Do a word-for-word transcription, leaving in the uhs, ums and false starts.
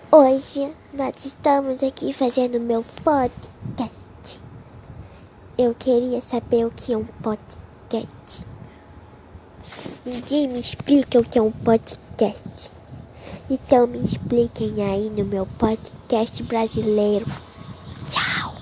Hoje nós estamos aqui fazendo meu podcast. Eu queria saber o que é um podcast. Ninguém me explica o que é um podcast. Então me expliquem aí no meu podcast brasileiro.